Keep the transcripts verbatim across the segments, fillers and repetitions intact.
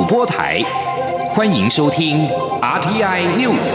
播台，欢迎收听 R T I News。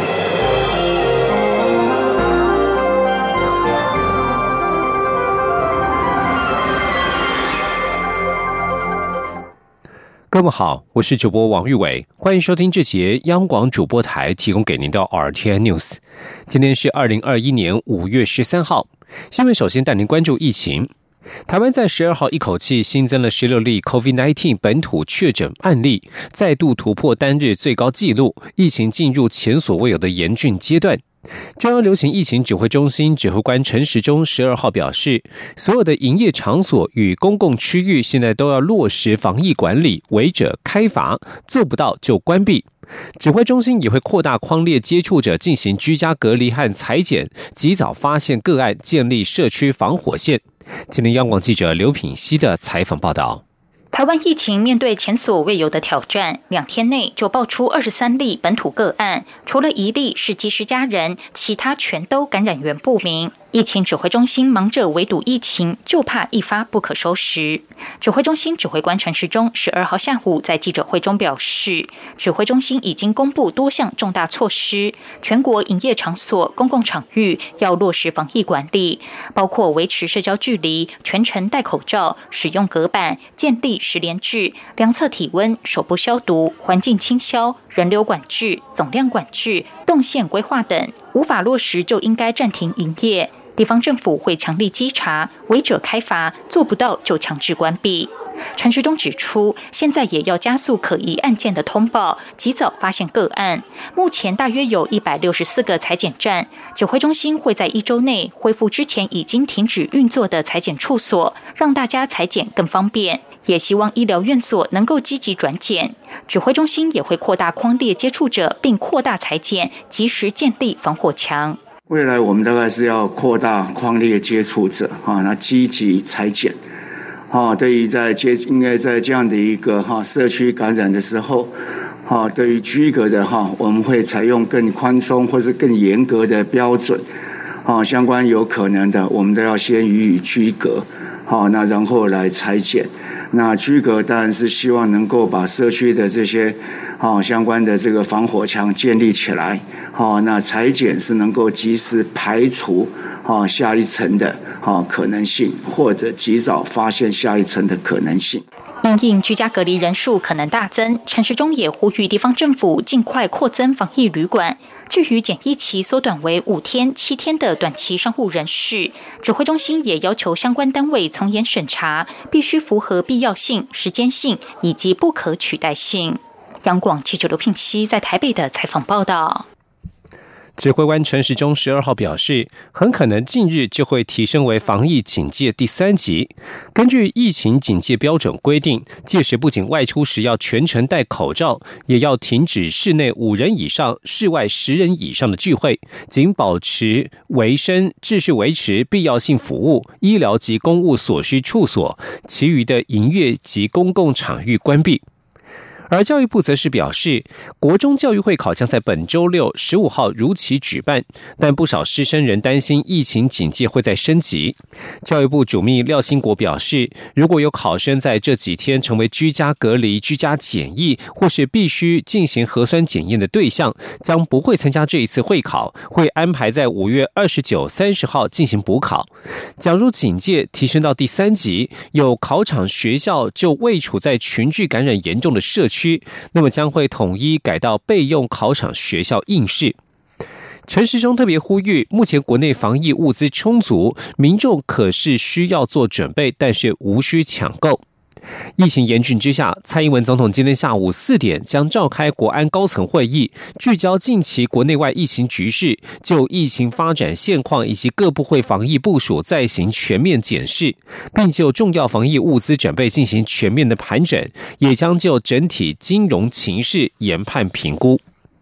各位好，我是主播王玉伟，欢迎收听这节央广主播台提供给您的 R T I News。今天是二零二一年五月十三号，新闻首先带您关注疫情。台湾在十二号一口气新增了十六例 COVID 十九 本土确诊案例，再度突破单日最高纪录，疫情进入前所未有的严峻阶段。中央流行疫情指挥中心指挥官陈时中十二号表示，所有的营业场所与公共区域现在都要落实防疫管理，违者开罚，做不到就关闭。指挥中心也会扩大匡列接触者进行居家隔离和采检，及早发现个案，建立社区防火线。今天央广记者刘品希的采访报道。 台湾疫情面对前所未有的挑战，两天内就爆出二十三例本土个案，除了一例是机师家人，其他全都感染源不明。疫情指挥中心忙着围堵疫情，就怕一发不可收拾。指挥中心指挥官陈时中十二号下午在记者会中表示，指挥中心已经公布多项重大措施，全国营业场所、公共场域要落实防疫管理，包括维持社交距离、全程戴口罩、使用隔板、建立实联制、量测体温、手部消毒、环境清消、人流管制、总量管制、动线规划等，无法落实就应该暂停营业。地方政府会强力稽查，违者开罚，做不到就强制关闭。陈时中指出，现在也要加速可疑案件的通报，及早发现个案。目前大约有一百六十四个采检站，指挥中心会在一周内恢复之前已经停止运作的采检处所，让大家采检更方便。也希望医疗院所能够积极转检。指挥中心也会扩大匡列接触者，并扩大采检，及时建立防火墙。 未来我们大概是要扩大匡列接触者啊，那积极采检啊，对于在接应该在这样的一个哈社区感染的时候，啊，对于居隔的哈，我们会采用更宽松或是更严格的标准啊，相关有可能的，我们都要先予以居隔，好，那然后来采检。那居隔当然是希望能够把社区的这些好相关的这个防火墙建立起来，好，那采检是能够及时排除好下一层的好可能性，或者及早发现下一层的可能性。 因应居家隔离人数可能大增，陈时中也呼吁地方政府尽快扩增防疫旅馆。至于检疫期缩短为五天、七天的短期商务人士，指挥中心也要求相关单位从严审查，必须符合必要性、时间性以及不可取代性。央广记者刘聘熙在台北的采访报道。 指挥官陈时中十二号表示，很可能近日就会提升为防疫警戒第三级。根据疫情警戒标准规定，届时不仅外出时要全程戴口罩，也要停止室内五人以上、室外十人以上的聚会，仅保持维生、秩序维持、必要性服务、医疗及公务所需处所，其余的营业及公共场域关闭。而教育部则是表示，国中教育会考将在本周六十五号如期举办，但不少师生仍担心疫情警戒会再升级。教育部主秘廖兴国表示，如果有考生在这几天成为居家隔离、居家检疫，或是必须进行核酸检验的对象，将不会参加这一次会考，会安排在五月二十九、三十号进行补考。假如警戒提升到第三级，有考场学校就未处在群聚感染严重的社区，那么将会统一改到备用考场学校应试。陈时中特别呼吁，目前国内防疫物资充足，民众可是需要做准备，但是无需抢购。疫情严峻之下，蔡英文总统今天下午四点将召开国安高层会议，聚焦近期国内外疫情局势，就疫情发展现况以及各部会防疫部署再行全面检视，并就重要防疫物资准备进行全面的盘整，也将就整体金融情势研判评估。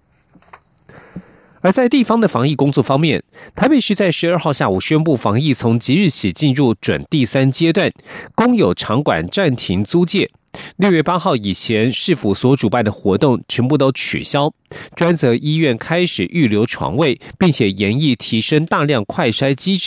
而在地方的防疫工作方面，台北市在十二号下午宣布，防疫从即日起进入准第三阶段，公有场馆暂停租借。六月八号以前，市府所主办的活动全部都取消，专责医院开始预留床位，并且研议提升大量快筛机制。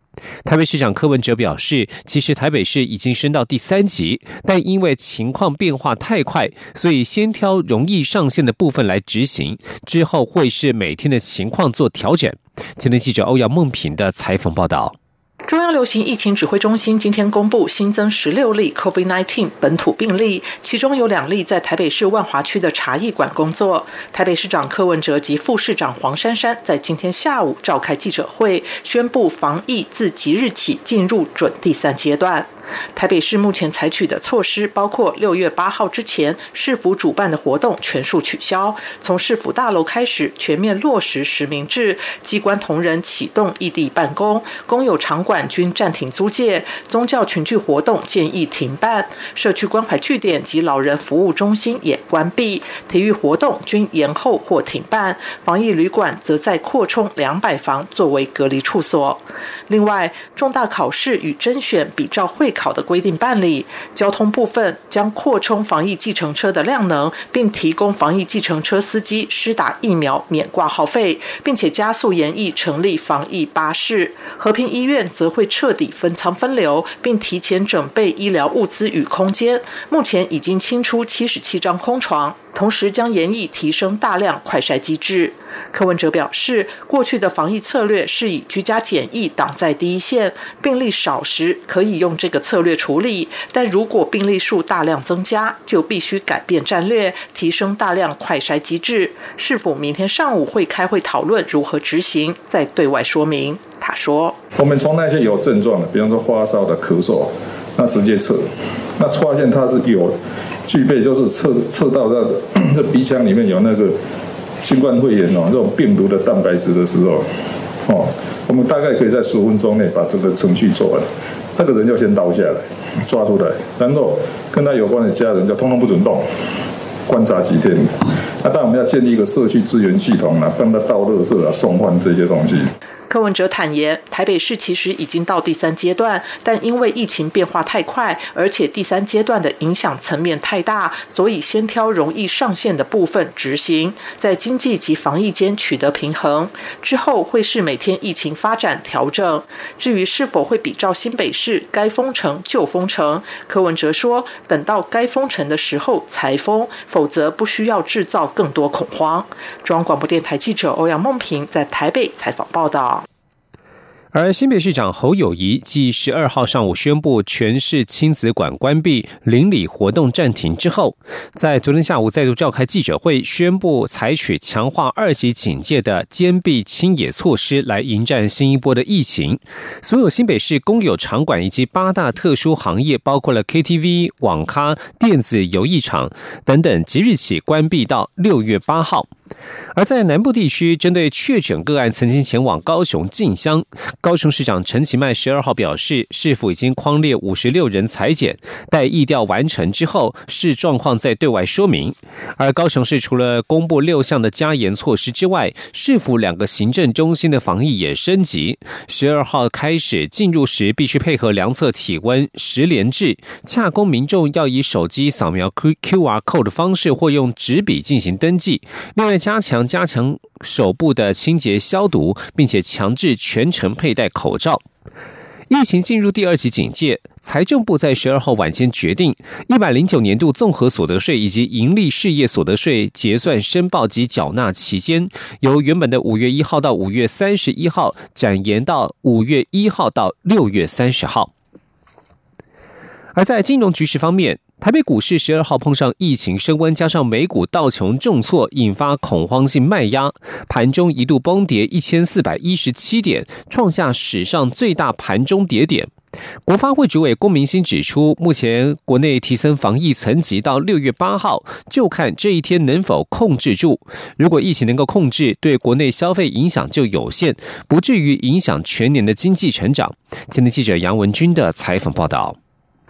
台北市长柯文哲表示，其实台北市已经升到第三级，但因为情况变化太快，所以先挑容易上线的部分来执行，之后会是每天的情况做调整。前天记者欧阳梦平的采访报道。 中央流行疫情指挥中心今天公布新增十六例 COVID 十九 本土病例，其中有两例在台北市万华区的茶艺馆工作。台北市长柯文哲及副市长黄珊珊在今天下午召开记者会，宣布防疫自即日起进入准第三阶段。台北市目前采取的措施包括六月八号之前市府主办的活动全数取消，从市府大楼开始全面落实实名制，机关同仁启动异地办公，公有场馆均暂停租借，宗教群聚活动建议停办，社区关怀据点及老人服务中心也关闭，体育活动均延后或停办，防疫旅馆则再扩充两百房作为隔离处所。另外，重大考试与甄选比照会考的规定办理，交通部分将扩充防疫计程车的量能，并提供防疫计程车司机施打疫苗免挂号费，并且加速研议成立防疫巴士。和平医院则会彻底分仓分流，并提前准备医疗物资与空间，目前已经清出七十七张空床，同时将研议提升大量快筛机制。柯文哲表示，过去的防疫策略是以居家检疫挡在第一线，病例少时可以用这个策略处理，但如果病例数大量增加，就必须改变战略，提升大量快筛机制。是否明天上午会开会讨论如何执行，再对外说明。他说， 我们从那些有症状的，比方说发烧的、咳嗽，那直接测，那发现它是有具备，就是测测到那个这鼻腔里面有那个新冠肺炎哦，这种病毒的蛋白质的时候，哦，我们大概可以在十五分钟内把这个程序做完。那个人要先倒下来，抓出来，然后跟他有关的家人就通通不准动，观察几天。那当然我们要建立一个社区资源系统啊，帮他倒垃圾啊、送饭这些东西。 柯文哲坦言，台北市其实已经到第三阶段，但因为疫情变化太快，而且第三阶段的影响层面太大，所以先挑容易上线的部分执行，在经济及防疫间取得平衡，之后会视每天疫情发展调整。至于是否会比照新北市该封城就封城，柯文哲说，等到该封城的时候才封，否则不需要制造更多恐慌。中央广播电台记者欧阳梦平在台北采访报道。 而新北市长侯友宜继十二号上午宣布全市亲子馆关闭、邻里活动暂停之后，在昨天下午再度召开记者会，宣布采取强化二级警戒的坚壁清野措施来迎战新一波的疫情。所有新北市公有场馆以及八大特殊行业，包括了 K T V、网咖、电子游艺场等等，即日起关闭到六月八号。而在南部地区，针对确诊个案曾经前往高雄进香，高雄市长陈其迈十二号表示，市府已经匡列五十六人采检，待疫调完成之后，视状况再对外说明。而高雄市除了公布六项的加严措施之外，市府两个行政中心的防疫也升级。十二号开始进入时必须配合量测体温实联制，洽公民众要以手机扫描 Q R code 的方式或用纸笔进行登记。另外加强加强手部的清洁消毒，并且强制全程佩戴口罩。疫情进入第二级警戒，财政部在十二号晚间决定，一百零九年度综合所得税以及营利事业所得税结算申报及缴纳期间，由原本的五月一号到五月三十一号展延到五月一号到六月三十号。而在金融局势方面，台北股市十二号碰上疫情升温，加上美股道琼重挫，引发恐慌性卖压，盘中一度崩跌一千四百一十七点，创下史上最大盘中跌点。国发会主委龚明鑫指出，目前国内提升防疫层级到六月八号，就看这一天能否控制住。如果疫情能够控制，对国内消费影响就有限，不至于影响全年的经济成长。前天记者杨文君的采访报道。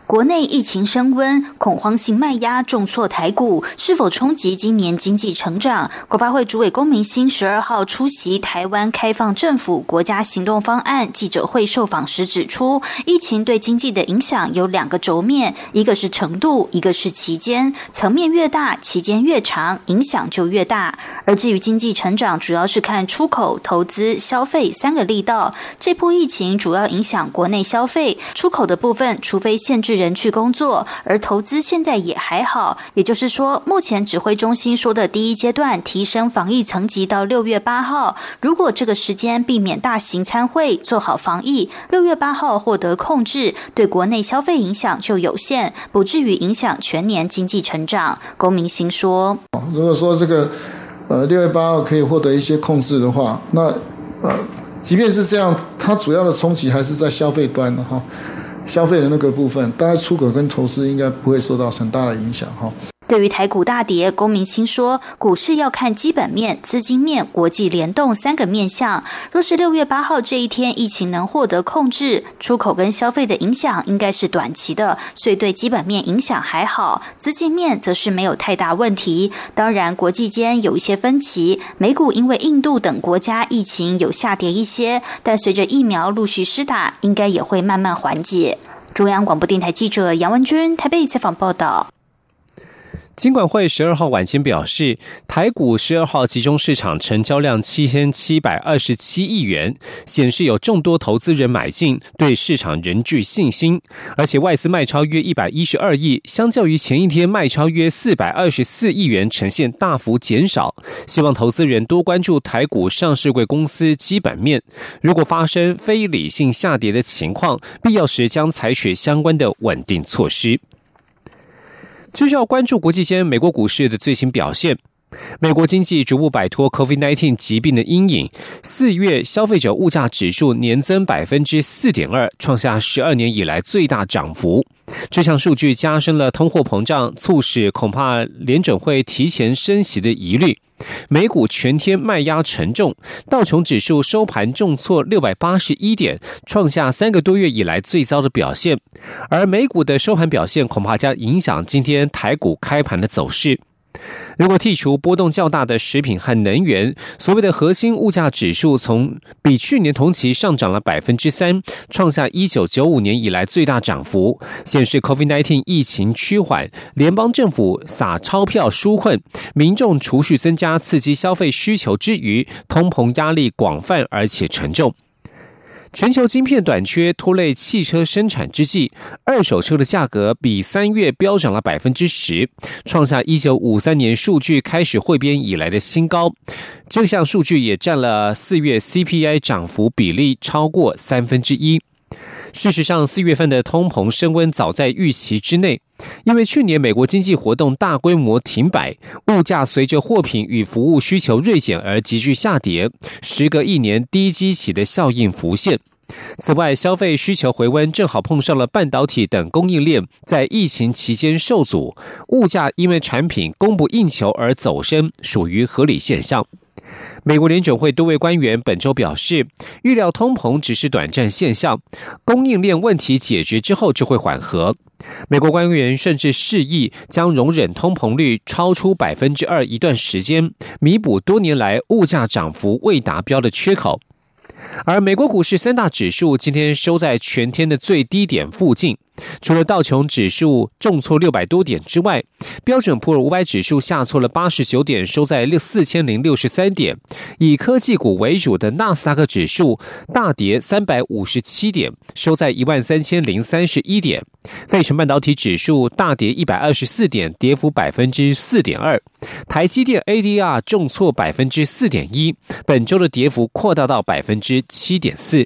国内疫情升温，恐慌性卖压重挫台股，是否冲击今年经济成长？国发会主委龚明鑫十二号出席台湾开放政府国家行动方案记者会受访时指出，疫情对经济的影响有两个轴面，一个是程度，一个是期间。层面越大，期间越长，影响就越大。而至于经济成长，主要是看出口、投资、消费三个力道。这波疫情主要影响国内消费，出口的部分，除非限制人去工作，而投资现在也还好。也就是说，目前指挥中心说的第一阶段提升防疫层级到六月八号，如果这个时间避免大型参会，做好防疫，六月八号获得控制，对国内消费影响就有限，不至于影响全年经济成长。龚明鑫说：“ 如果说这个呃六月八号可以获得一些控制的话，那呃即便是这样，它主要的冲击还是在消费端的哈。”消费的那个部分，大概出口跟投资应该不会受到很大的影响哈。 对于台股大跌，龚明鑫说，股市要看基本面、资金面、国际联动三个面向。若是六月八号这一天疫情能获得控制，出口跟消费的影响应该是短期的，所以对基本面影响还好，资金面则是没有太大问题。当然，国际间有一些分歧，美股因为印度等国家疫情有下跌一些，但随着疫苗陆续施打，应该也会慢慢缓解。中央广播电台记者杨文君台北采访报道。 金管会十二号晚间表示，台股十二号集中市场成交量七千七百二十七亿元，显示有众多投资人买进，对市场仍具信心。而且外资卖超约一百一十二亿，相较于前一天卖超约四百二十四亿元，呈现大幅减少。希望投资人多关注台股上市柜公司基本面，如果发生非理性下跌的情况，必要时将采取相关的稳定措施。就是要关注国际间美国股市的最新表现。美国经济逐步摆脱 COVID 十九 疾病的阴影，四月消费者物价指数年增 百分之四点二， 创下十二年以来最大涨幅。这项数据加深了通货膨胀，促使恐怕联准会提前升息的疑虑。美股全天卖压沉重，道琼指数收盘重挫六百八十一点，创下三个多月以来最糟的表现。而美股的收盘表现恐怕将影响今天台股开盘的走势。如果剔除波动较大的食品和能源，所谓的核心物价指数从比去年同期上涨了 百分之三， 创下一九九五年以来最大涨幅，显示 COVID 十九 疫情趋缓，联邦政府撒钞票纾困，民众储蓄增加刺激消费需求之余，通膨压力广泛而且沉重。全球晶片短缺拖累汽车生产之际，二手车的价格比三月飙涨了 百分之十， 创下一九五三年数据开始汇编以来的新高。这项数据也占了四月 C P I 涨幅比例超过三分之一。事实上，四月份的通膨升温早在预期之内，因为去年美国经济活动大规模停摆，物价随着货品与服务需求锐减而急剧下跌，时隔一年低基期的效应浮现。此外，消费需求回温正好碰上了半导体等供应链在疫情期间受阻，物价因为产品供不应求而走升，属于合理现象。美国联准会多位官员本周表示，预料通膨只是短暂现象，供应链问题解决之后就会缓和。美国官员甚至示意将容忍通膨率超出 百分之二 一段时间，弥补多年来物价涨幅未达标的缺口。而美国股市三大指数今天收在全天的最低点附近，除了道琼指数重挫六百多点之外，标准普尔五百指数下挫了八十九点，收在四千零六十三点。以科技股为主的纳斯达克指数大跌三百五十七点，收在一万三千零三十一点。费城半导体指数大跌一百二十四点，跌幅 百分之四点二。台积电 A D R 重挫 百分之四点一， 本周的跌幅扩大到 百分之七点四。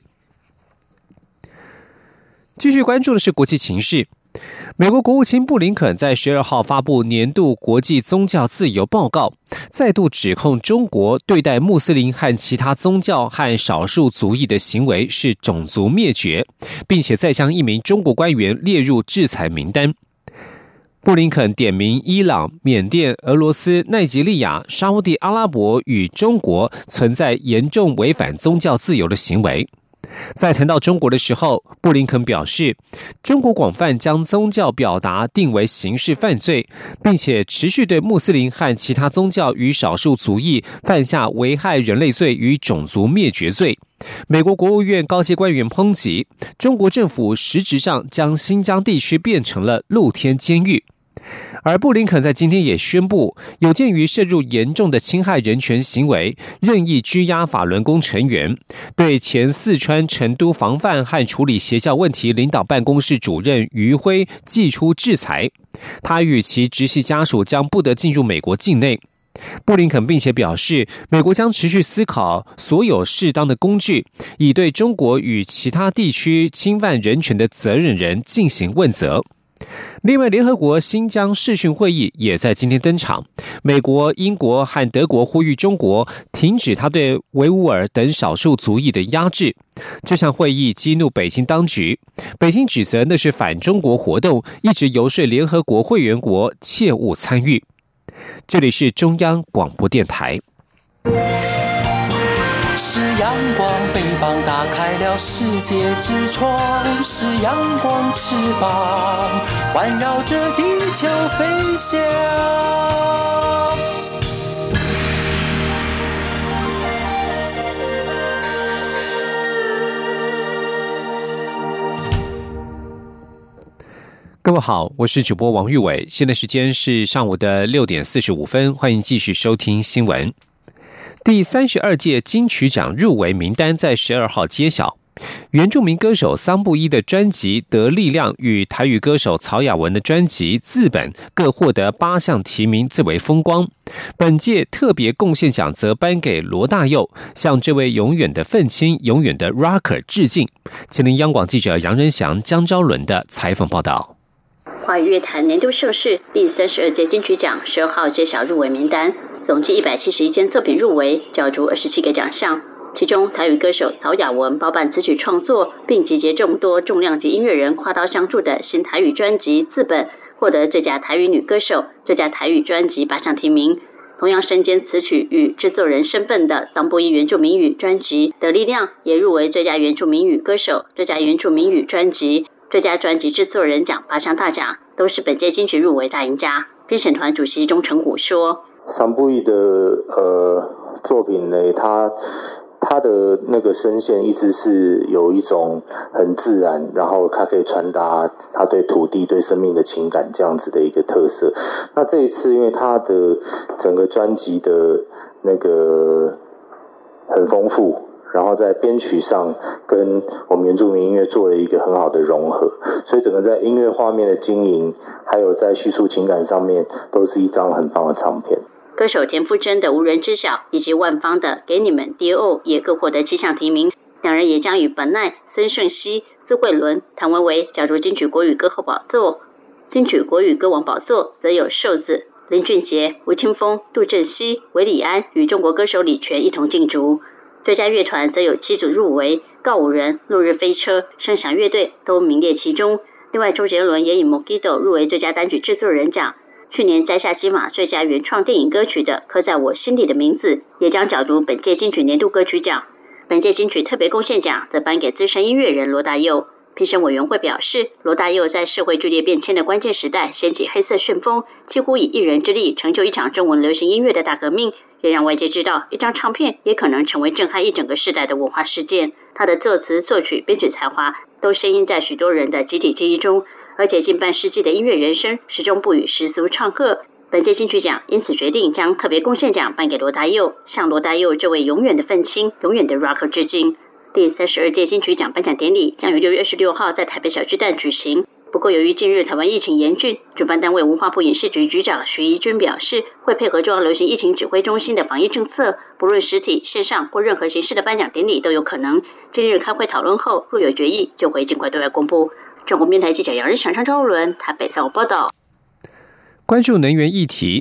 继续关注的是国际情势。美国国务卿布林肯在十二号发布年度国际宗教自由报告，再度指控中国对待穆斯林和其他宗教和少数族裔的行为是种族灭绝，并且再将一名中国官员列入制裁名单。布林肯点名伊朗、缅甸、俄罗斯、奈及利亚、沙烏地阿拉伯与中国存在严重违反宗教自由的行为。 在谈到中国的时候，布林肯表示，中国广泛将宗教表达定为刑事犯罪，并且持续对穆斯林和其他宗教与少数族裔犯下危害人类罪与种族灭绝罪。美国国务院高阶官员抨击，中国政府实质上将新疆地区变成了露天监狱。而布林肯在今天也宣布，有鉴于涉入严重的侵害人权行为，任意拘押法轮功成员，对前四川成都防范和处理邪教问题领导办公室主任余辉祭出制裁，他与其直系家属将不得进入美国境内。布林肯并且表示，美国将持续思考所有适当的工具，以对中国与其他地区侵犯人权的责任人进行问责。另外，联合国新疆视讯会议也在今天登场。美国、英国和德国呼吁中国停止他对维吾尔等少数族裔的压制。这项会议激怒北京当局，北京指责那是反中国活动，一直游说联合国会员国切勿参与。这里是中央广播电台。 是阳光，翅膀打开了世界之窗，是阳光翅膀环绕着地球飞翔。 各位好，我是主播王玉伟，现在时间是上午的六点四十五分，欢迎继续收听新闻。第三十二届金曲奖入围名单在十二号揭晓，原住民歌手桑布伊的专辑《得力量》与台语歌手曹雅文的专辑《字本》各获得八项提名，最为风光。本届特别贡献奖则颁给罗大佑，向这位永远的愤青、永远的 rocker 致敬。前听央广记者杨仁祥、江昭伦的采访报道。 华语乐坛年度盛事第三十二届金曲奖十二号揭晓入围名单，总计一百七十一件作品入围，角逐二十七个奖项。其中，台语歌手曹雅文包办词曲创作，并集结众多重量级音乐人跨刀相助的新台语专辑《字本》，获得最佳台语女歌手、最佳台语专辑八项提名。同样身兼词曲与制作人身份的桑布伊原住民语专辑《得力量》也入围最佳原住民语歌手、最佳原住民语专辑、最佳专辑制作人奖八项大奖，都是本届金曲入围大赢家。评审团主席钟成虎说：“ 桑布伊的呃作品呢，他他的那个声线一直是有一种很自然，然后他可以传达他对土地、对生命的情感这样子的一个特色。那这一次，因为他的整个专辑的那个很丰富。”然后在编曲上跟我们原住民音乐做了一个很好的融合，所以整个在音乐画面的经营，还有在叙述情感上面，都是一张很棒的唱片。 歌手田馥甄的《无人知晓》以及万芳的《给你们 D O》也各获得七项提名，两人也将与本奈、孙盛熙、苏慧伦、谭维维角逐金曲国语歌后宝座。金曲国语歌王宝座则有瘦子、林俊杰、吴青峰、杜振熙、韦礼安与中国歌手李泉一同竞逐。最佳乐团则有七组入围，告五人、落日飞车、声响乐队都名列其中。另外，周杰伦也以《Mojito》入围最佳单曲制作人奖。去年摘下金马最佳原创电影歌曲的《刻在我心底的名字》也将角逐本届金曲年度歌曲奖。本届金曲特别贡献奖则颁给资深音乐人罗大佑。评审委员会表示，罗大佑在社会剧烈变迁的关键时代掀起黑色旋风，几乎以一人之力成就一场中文流行音乐的大革命，也让外界知道一张唱片也可能成为震撼一整个世代的文化事件。他的作词、作曲、编曲才华都深印在许多人的集体记忆中，而且近半世纪的音乐人生始终不与世俗唱和。本届金曲奖因此决定将特别贡献奖颁给罗大佑，向罗大佑这位永远的愤青、永远的 rocker 致敬。第三十二届金曲奖颁奖典礼将于六月二十六号在台北小巨蛋举行。不过，由于近日台湾疫情严峻，主办单位文化部影视局局长徐怡君表示，会配合中央流行疫情指挥中心的防疫政策，不论实体、线上或任何形式的颁奖典礼都有可能。近日开会讨论后，若有决议，就会尽快对外公布。中国电台记者杨日祥、张昭伦台北采访报道。 关注能源议题。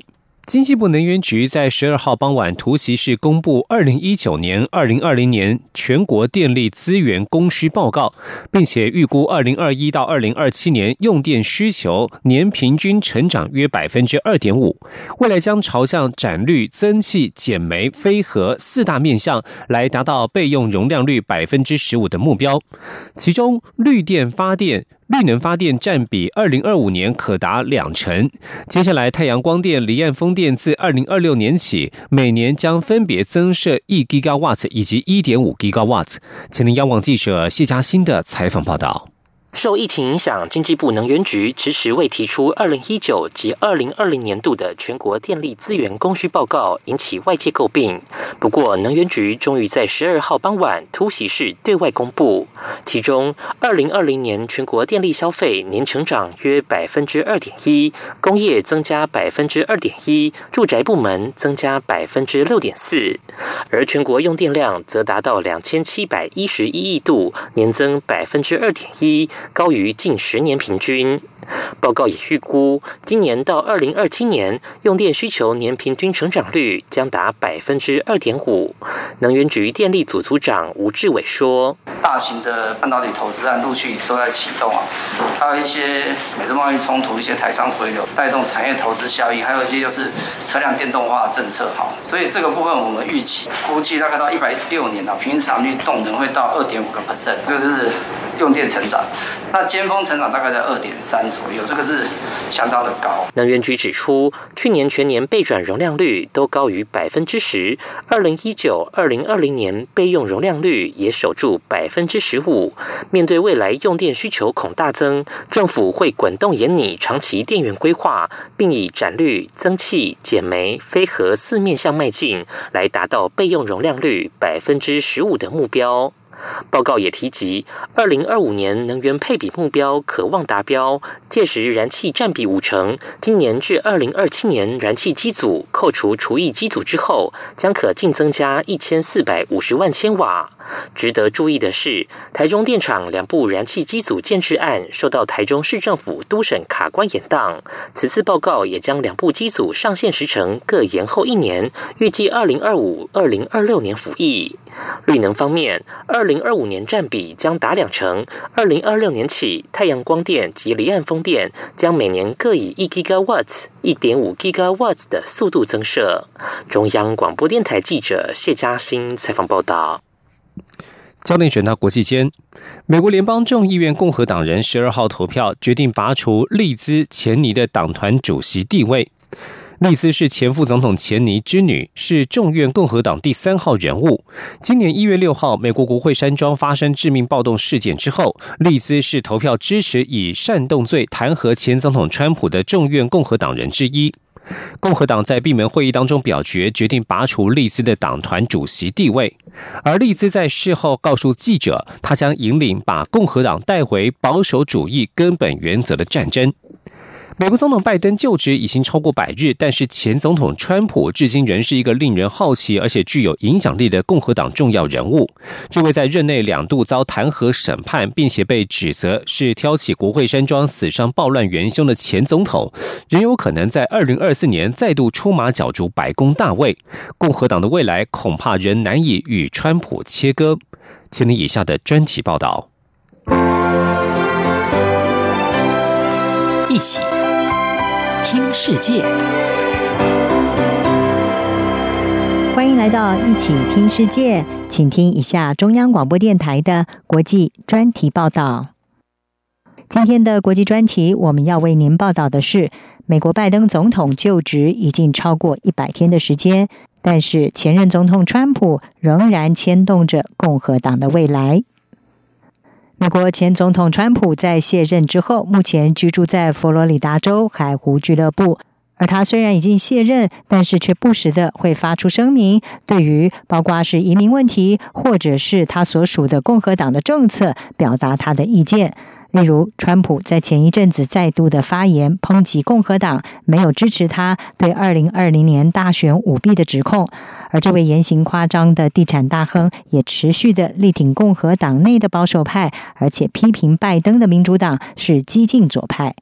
经济部能源局在十二号傍晚突袭式公布二零一九年、二零二零年全国电力资源供需报告，并且预估二零二一到二零二七年用电需求年平均成长约百分之二点五，未来将朝向展绿、增气、减煤、非核四大面向来达到备用容量率百分之十五的目标。其中，绿电发电。绿能发电占比二零二五年可达两成，接下来太阳光电、离岸风电自二零二六年起，每年将分别增设一 gigawatt 以及一点五 gigawatt。前天央广记者谢嘉欣的采访报道。 受疫情影响，经济部能源局迟迟未提出二零一九及二零二零年度的全国电力资源供需报告，引起外界诟病。不过，能源局终于在十二号傍晚突袭式对外公布，其中二零二零年全国电力消费年成长约百分之二点一，工业增加百分之二点一，住宅部门增加百分之六点四，而全国用电量则达到两千七百一十一亿度，年增百分之二点一。高于近十年平均。报告也预估，今年到二零二七年，用电需求年平均成长率将达百分之二点五。能源局电力组组长吴志伟说：“ 大型的半导体投资案陆续都在启动啊，还有一些美中贸易冲突、一些台商回流，带动产业投资效益，还有一些就是车辆电动化政策哈。所以这个部分我们预期估计大概到一百一十六年啊，平均成长率动能会到二点五个 percent， 这就是用电成长。那尖峰成长大概在二点三。左右，这个是相当的高。 能源局指出，去年全年备转容量率都高于百分之十，二零一九、二零二零年备用容量率也守住百分之十五。面对未来用电需求恐大增，政府会滚动研拟长期电源规划，并以展绿、增气、减煤、非核四面向迈进，来达到备用容量率百分之十五的目标。报告也提及，二零二五年能源配比目标可望达标，届时燃气占比五成。今年至二零二七年，燃气机组扣除除役机组之后，将可净增加一千四百五十万千瓦。值得注意的是，台中电厂两部燃气机组建制案受到台中市政府督审卡关延宕，此次报告也将两部机组上线时程各延后一年，预计二零二五、二零二六年服役。绿能方面，二零二五年占比将达两成，二零二六年起，太阳光电及离岸风电将每年各以一 gigawatt、一点五 gigawatt 的速度增设。中央广播电台记者谢嘉欣采访报道。 焦点转到国际间，美国联邦众议院共和党人十二号投票决定拔除利兹·钱尼的党团主席地位。利兹是前副总统钱尼之女，是众院共和党第三号人物。今年一月六号，美国国会山庄发生致命暴动事件之后，利兹是投票支持以煽动罪弹劾前总统川普的众院共和党人之一。共和党在闭门会议当中表决，决定拔除利兹的党团主席地位。而利兹在事后告诉记者，他将引领把共和党带回保守主义根本原则的战争。美国总统拜登就职已经超过百日，但是前总统川普至今仍是一个令人好奇而且具有影响力的共和党重要人物。这位在任内两度遭弹劾审判，并且被指责是挑起国会山庄死伤暴乱元凶的前总统，仍有可能在二零二四年再度出马角逐白宫大位。共和党的未来恐怕仍难以与川普切割。请听以下的专题报道。 一起听世界，欢迎来到一起听世界，请听一下中央广播电台的国际专题报道。今天的国际专题，我们要为您报道的是，美国拜登总统就职已经超过一百天的时间，但是前任总统川普仍然牵动着共和党的未来。美国前总统川普在卸任之后，目前居住在佛罗里达州海湖俱乐部。而他虽然已经卸任，但是却不时的会发出声明，对于包括是移民问题，或者是他所属的共和党的政策，表达他的意见。例如，川普在前一阵子再度的发言，抨击共和党没有支持他对二零二零年大选舞弊的指控。而这位言行夸张的地产大亨也持续的力挺共和党内的保守派，而且批评拜登的民主党是激进左派。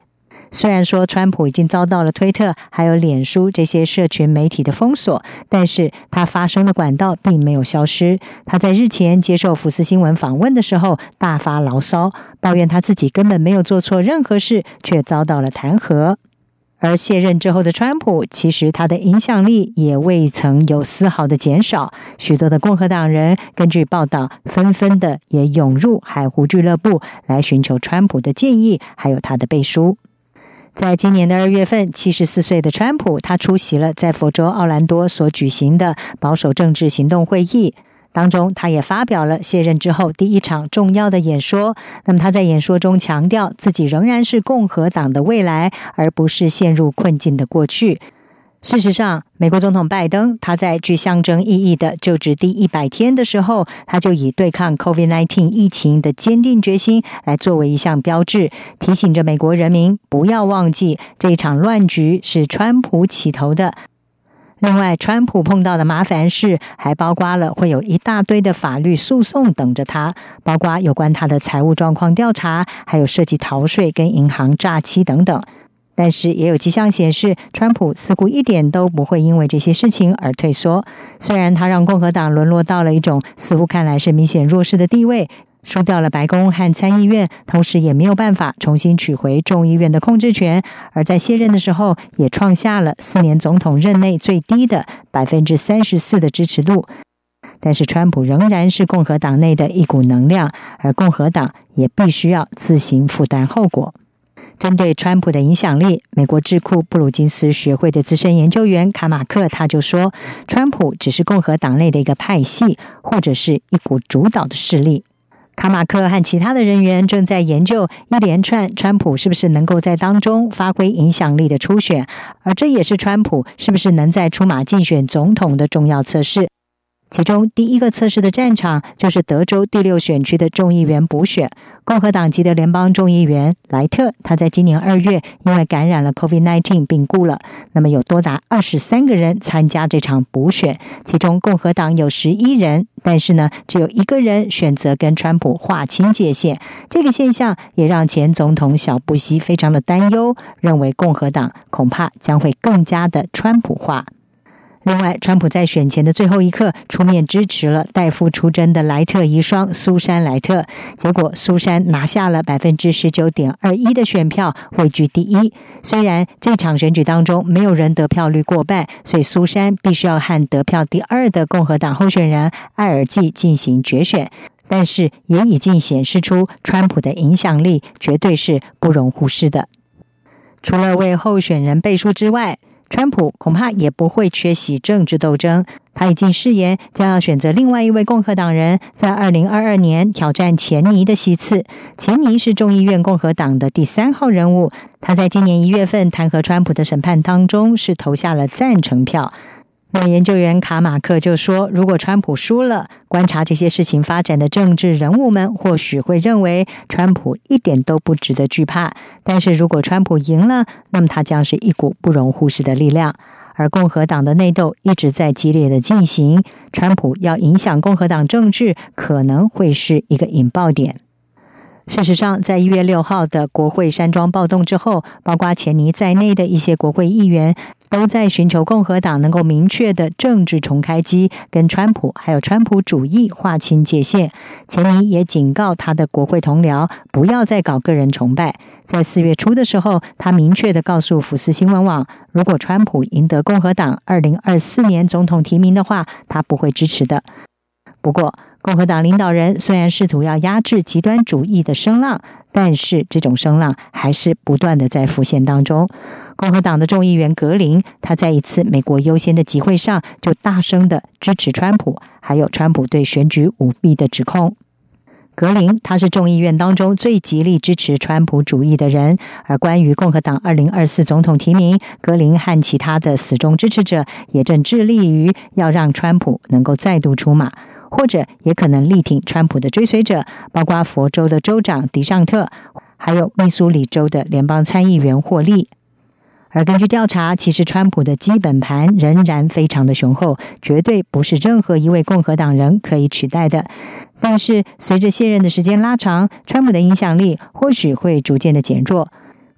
虽然说川普已经遭到了推特还有脸书这些社群媒体的封锁，但是他发声的管道并没有消失。他在日前接受福斯新闻访问的时候大发牢骚，抱怨他自己根本没有做错任何事，却遭到了弹劾。而卸任之后的川普，其实他的影响力也未曾有丝毫的减少，许多的共和党人根据报道纷纷的也涌入海湖俱乐部来寻求川普的建议还有他的背书。在今年的二月份，七十四岁的川普他出席了在佛州奥兰多所举行的保守政治行动会议，当中他也发表了卸任之后第一场重要的演说。那么他在演说中强调自己仍然是共和党的未来，而不是陷入困境的过去。事实上，美国总统拜登他在具象征意义的就职第一百天的时候，他就以对抗 COVID 十九 疫情的坚定决心来作为一项标志，提醒着美国人民不要忘记这一场乱局是川普起头的。另外，川普碰到的麻烦事还包括了会有一大堆的法律诉讼等着他，包括有关他的财务状况调查，还有涉及逃税跟银行诈欺等等。但是也有迹象显示，川普似乎一点都不会因为这些事情而退缩。虽然他让共和党沦落到了一种似乎看来是明显弱势的地位，输掉了白宫和参议院，同时也没有办法重新取回众议院的控制权，而在卸任的时候也创下了四年总统任内最低的 百分之三十四 的支持度。但是川普仍然是共和党内的一股能量，而共和党也必须要自行负担后果。针对川普的影响力，美国智库布鲁金斯学会的资深研究员卡马克他就说，川普只是共和党内的一个派系，或者是一股主导的势力。卡马克和其他的人员正在研究一连串川普是不是能够在当中发挥影响力的初选，而这也是川普是不是能在出马竞选总统的重要测试。其中第一个测试的战场就是德州第六选区的众议员补选。共和党籍的联邦众议员莱特，他在今年二月因为感染了 COVID 十九 病故了。那么有多达二十三个人参加这场补选，其中共和党有十一人，但是呢，只有一个人选择跟川普划清界限。这个现象也让前总统小布希非常的担忧，认为共和党恐怕将会更加的川普化。另外，川普在选前的最后一刻出面支持了代父出征的莱特遗孀苏珊莱特，结果苏珊拿下了 百分之十九点二一 的选票，位居第一。虽然这场选举当中没有人得票率过半，所以苏珊必须要和得票第二的共和党候选人艾尔季进行决选，但是也已经显示出川普的影响力绝对是不容忽视的。除了为候选人背书之外，川普恐怕也不会缺席政治斗争，他已经誓言将要选择另外一位共和党人，在二零二二年挑战钱尼的席次。钱尼是众议院共和党的第三号人物，他在今年一月份弹劾川普的审判当中是投下了赞成票。那么研究员卡马克就说，如果川普输了，观察这些事情发展的政治人物们或许会认为川普一点都不值得惧怕，但是如果川普赢了，那么他将是一股不容忽视的力量。而共和党的内斗一直在激烈的进行，川普要影响共和党政治可能会是一个引爆点。事实上，在一月六号的国会山庄暴动之后，包括钱尼在内的一些国会议员都在寻求共和党能够明确的政治重开机，跟川普还有川普主义划清界限。钱尼也警告他的国会同僚不要再搞个人崇拜。在四月初的时候，他明确的告诉福斯新闻网，如果川普赢得共和党二零二四年总统提名的话，他不会支持的。不过共和党领导人虽然试图要压制极端主义的声浪，但是这种声浪还是不断的在浮现当中。共和党的众议员格林，他在一次美国优先的集会上就大声的支持川普，还有川普对选举舞弊的指控。格林他是众议院当中最极力支持川普主义的人，而关于共和党二零二四总统提名，格林和其他的死忠支持者也正致力于要让川普能够再度出马，或者也可能力挺川普的追随者，包括佛州的州长迪尚特，还有密苏里州的联邦参议员霍利。而根据调查，其实川普的基本盘仍然非常的雄厚，绝对不是任何一位共和党人可以取代的。但是随着卸任的时间拉长，川普的影响力或许会逐渐的减弱。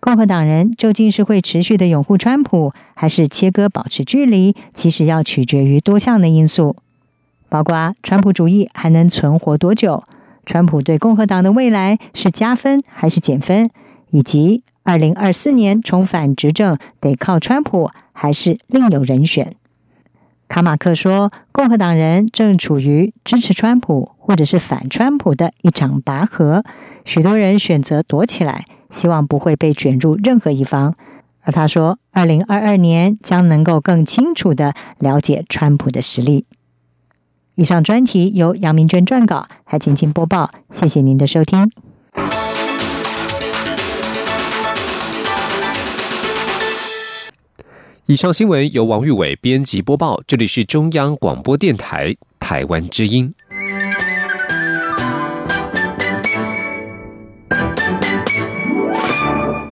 共和党人究竟是会持续的拥护川普，还是切割保持距离，其实要取决于多项的因素，包括川普主义还能存活多久，川普对共和党的未来是加分还是减分，以及二零二四年重返执政得靠川普还是另有人选。卡马克说，共和党人正处于支持川普或者是反川普的一场拔河，许多人选择躲起来，希望不会被卷入任何一方。而他说，二零二二年将能够更清楚地了解川普的实力。以上专题由杨明娟撰稿，还请请播报，谢谢您的收听。 以上新闻由王玉伟编辑播报，这里是中央广播电台台湾之音。